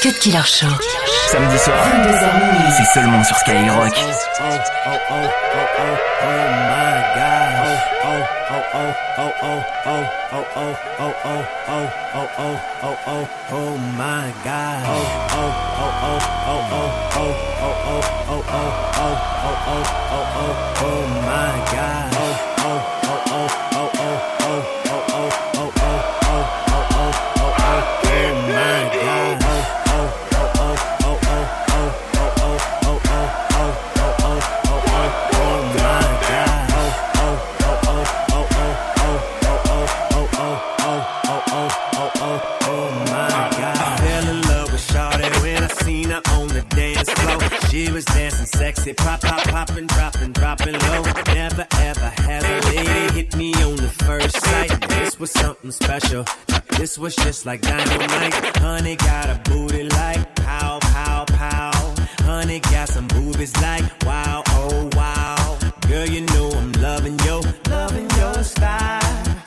Cut Killer Show. Samedi soir, 22h, c'est seulement sur Skyrock. She was dancing sexy, poppin', droppin' low. Never ever had a lady hit me on the first sight. This was something special. This was just like dynamite. Honey got a booty like pow, pow, pow. Honey got some boobies like wow, oh wow. Girl, you know I'm loving your style.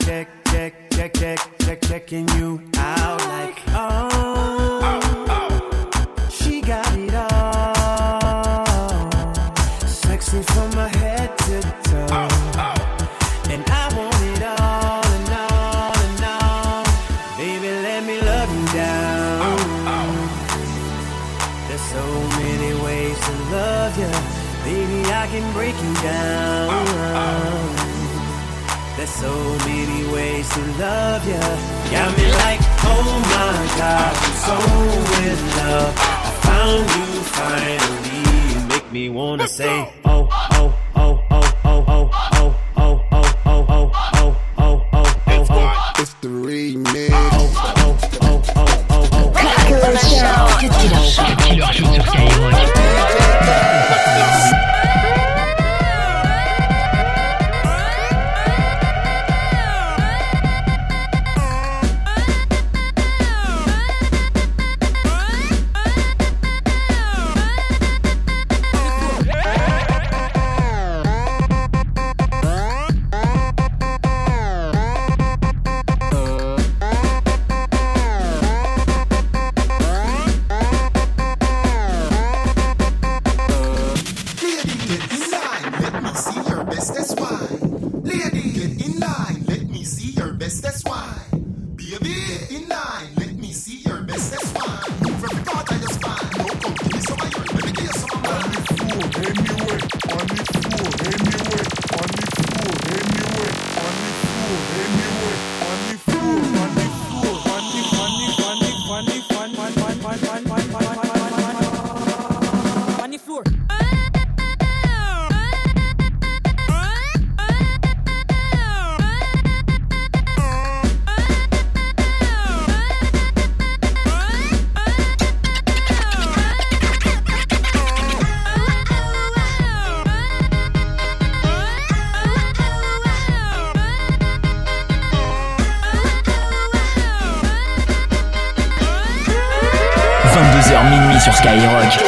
Checking you out like oh. She got it all. Sexy from my head to toe. And I want it all and all and all. Baby, let me love you down. There's so many ways to love you. Baby, I can break you down. There's so many ways to love you. Got me like, oh my God, I'm so in love. I found you finally. You make me wanna say, oh, oh, oh, oh, oh, oh, oh, oh, oh, oh, oh, oh, oh, oh, oh. It's the remix. Oh, oh, oh, oh, oh, oh. Cut Killer Show. Cut Killer Show sur Skyrock. Minuit sur Skyrock.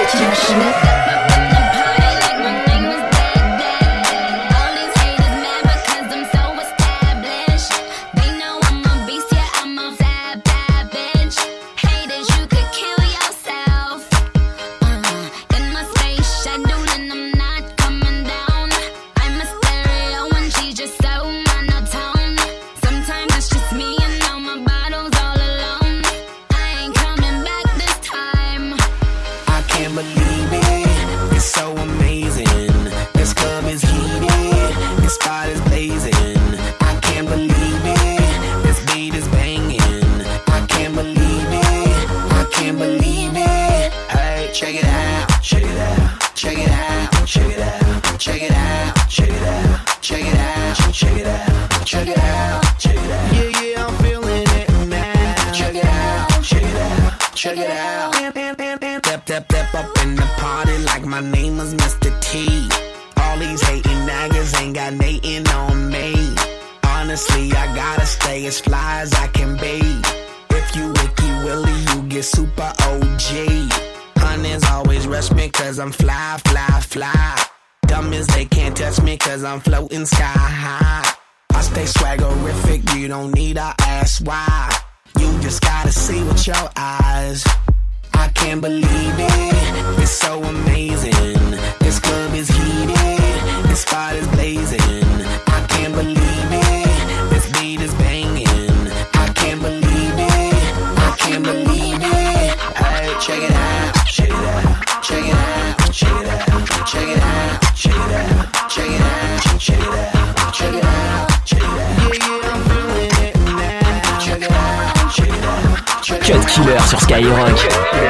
Step up in the party like my name was Mr. T. All these hating niggas ain't got nothing on me. Honestly, I gotta stay as fly as I can be. If you Wiki Willie, you get super OG. Hunters always rush me cause I'm fly, fly, fly. Dumb as they can't touch me cause I'm floating sky high. I stay swaggerific, you don't need to ask why. You just gotta see with your eyes. I can't believe it. It's so amazing. This club is heated. This spot is blazing. I can't believe it. This beat is banging. I can't believe it. I can't believe it. Hey, check it out. Check it out. Check it out. Check it out. Check it out. Check it out. Check it out. Check it out. Check it out. Check it out. Yeah, I'm feeling it now. Check it out. Check it out. Cut Killer sur Skyrock.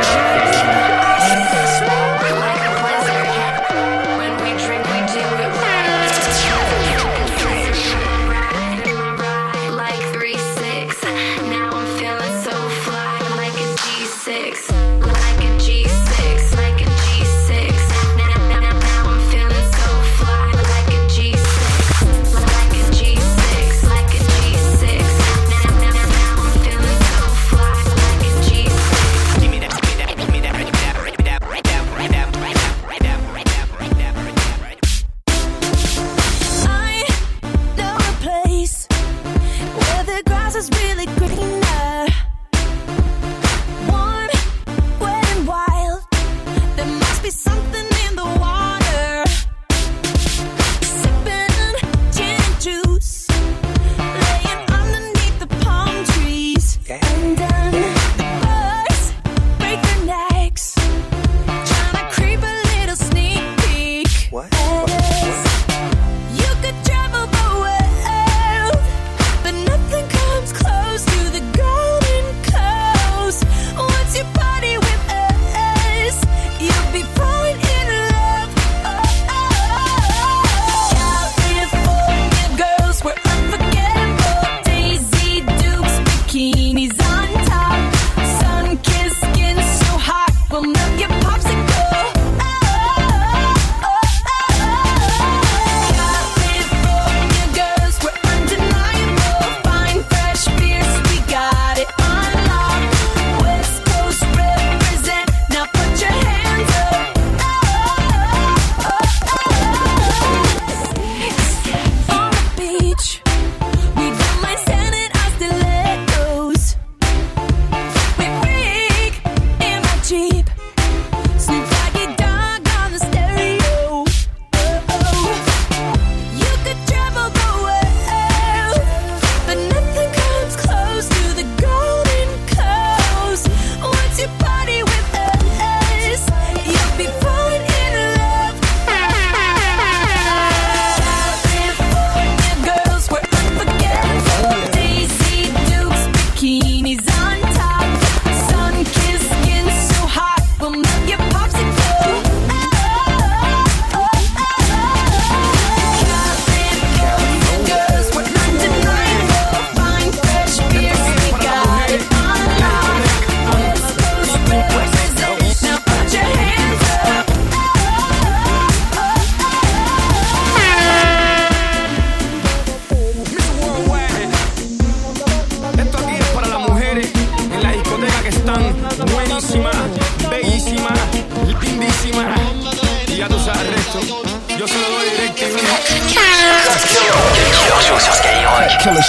Killer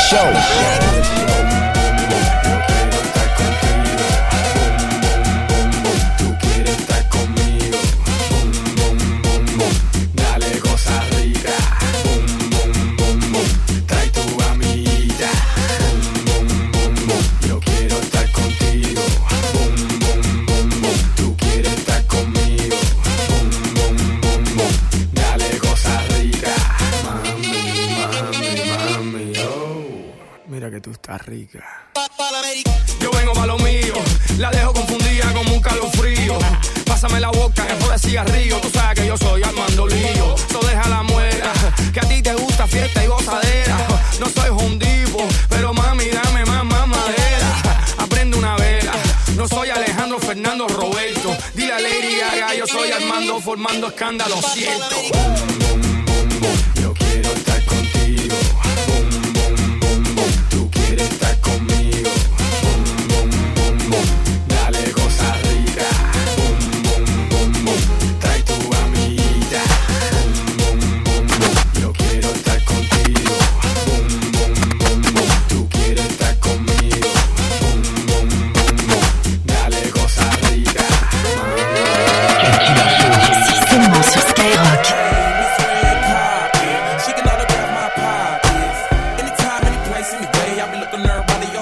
Show. Rica. Yo vengo pa' lo mío, la dejo confundida como un calofrío. Pásame la boca, que joda cigarrillo. Tú sabes que yo soy Armando Lío. So deja la muela, que a ti te gusta fiesta y gozadera. No soy hondipo, pero mami, dame más madera. Aprende una vela, no soy Alejandro Fernando Roberto. Dile a Lady Gaga, yo soy Armando formando escándalo, siento. Yo quiero estar contigo. Estar conmigo, dale cosa rica, trae tu amiguita, yo quiero estar contigo, tú quieres estar conmigo, dale cosa rica.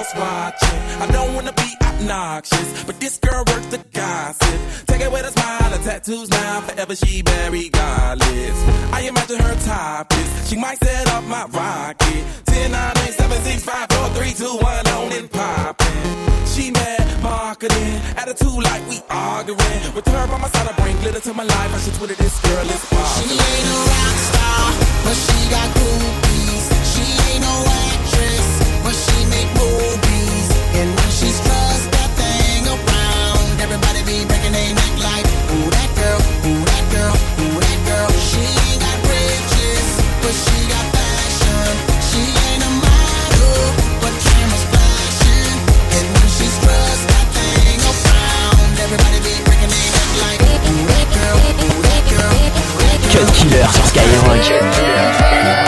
cameras watching. I don't wanna be obnoxious, but this girl worth the gossip. Take it with a smile, her tattoos now, forever she very godless. I imagine her topless, she might set up my rocket. 10, 9, 8, 7, 6, 5, 4, 3, 2, 1, on and poppin'. She mad marketing, attitude like we arguing. With her by my side, I bring glitter to my life. I should Twitter this girl is popular. She ain't a rock star, but she got groupies. She ain't no actress, but she make movies. And when she struts that thing around, everybody be breaking their neck like, ooh that girl, ooh that girl, ooh that girl. She ain't got riches, but she got fashion. She ain't a model, but cameras flashing. And when she struts that thing around, everybody be breaking their neck like, ooh that girl, ooh that girl, ooh that girl. Cut Killer sur Skyrock.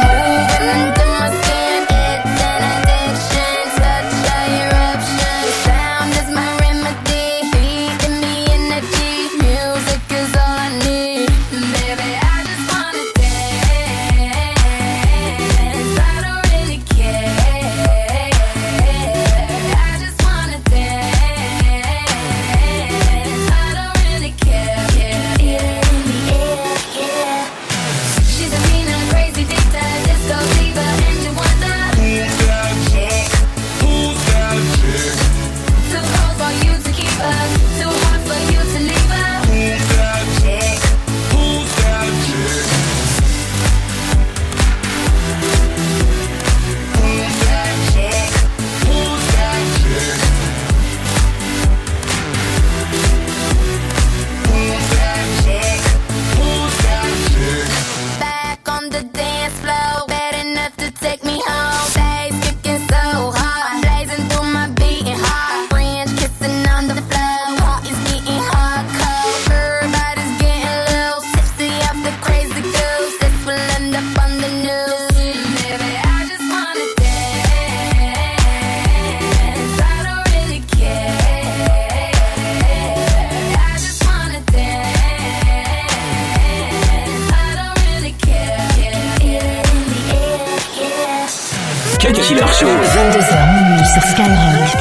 Killer Show. 22h minuit sur Skyrock.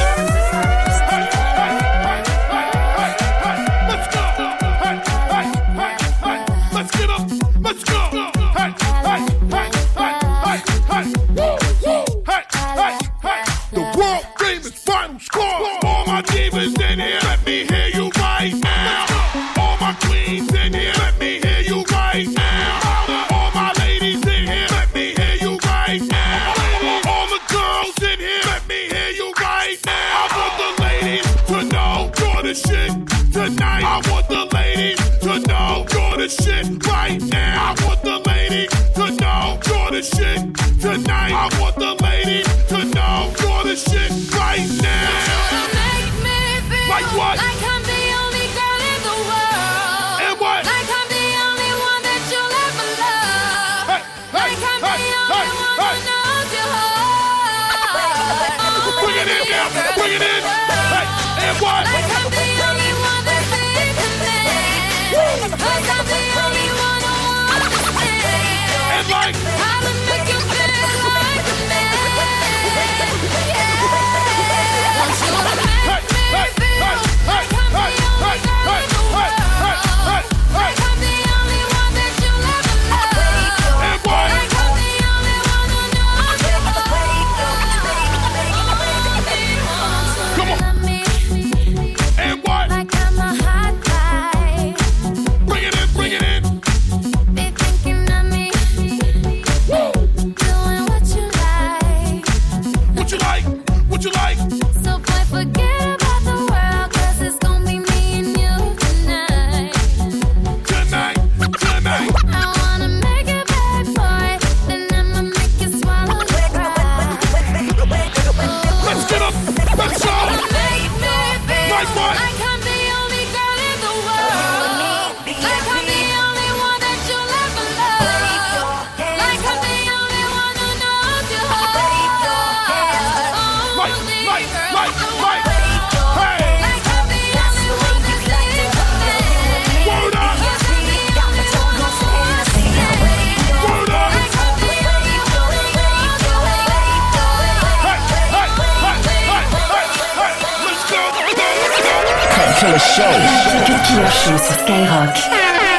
Killer Show. Cut Killer Show sur Skyrock.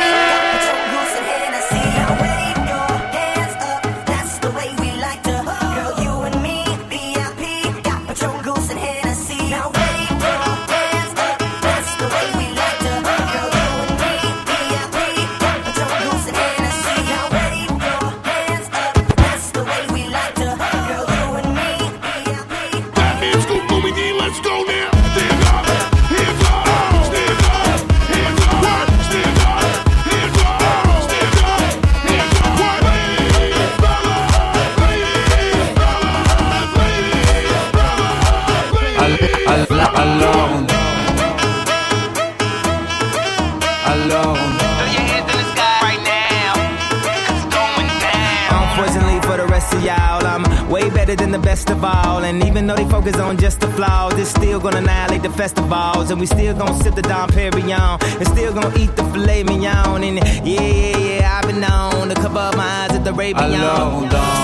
Than the best of all, and even though they focus on just the flaws, it's still gonna annihilate the festivals, and we still gonna sip the Dom Perignon, and still gonna eat the filet mignon, and yeah, I've been known to cover up my eyes at the Arabian.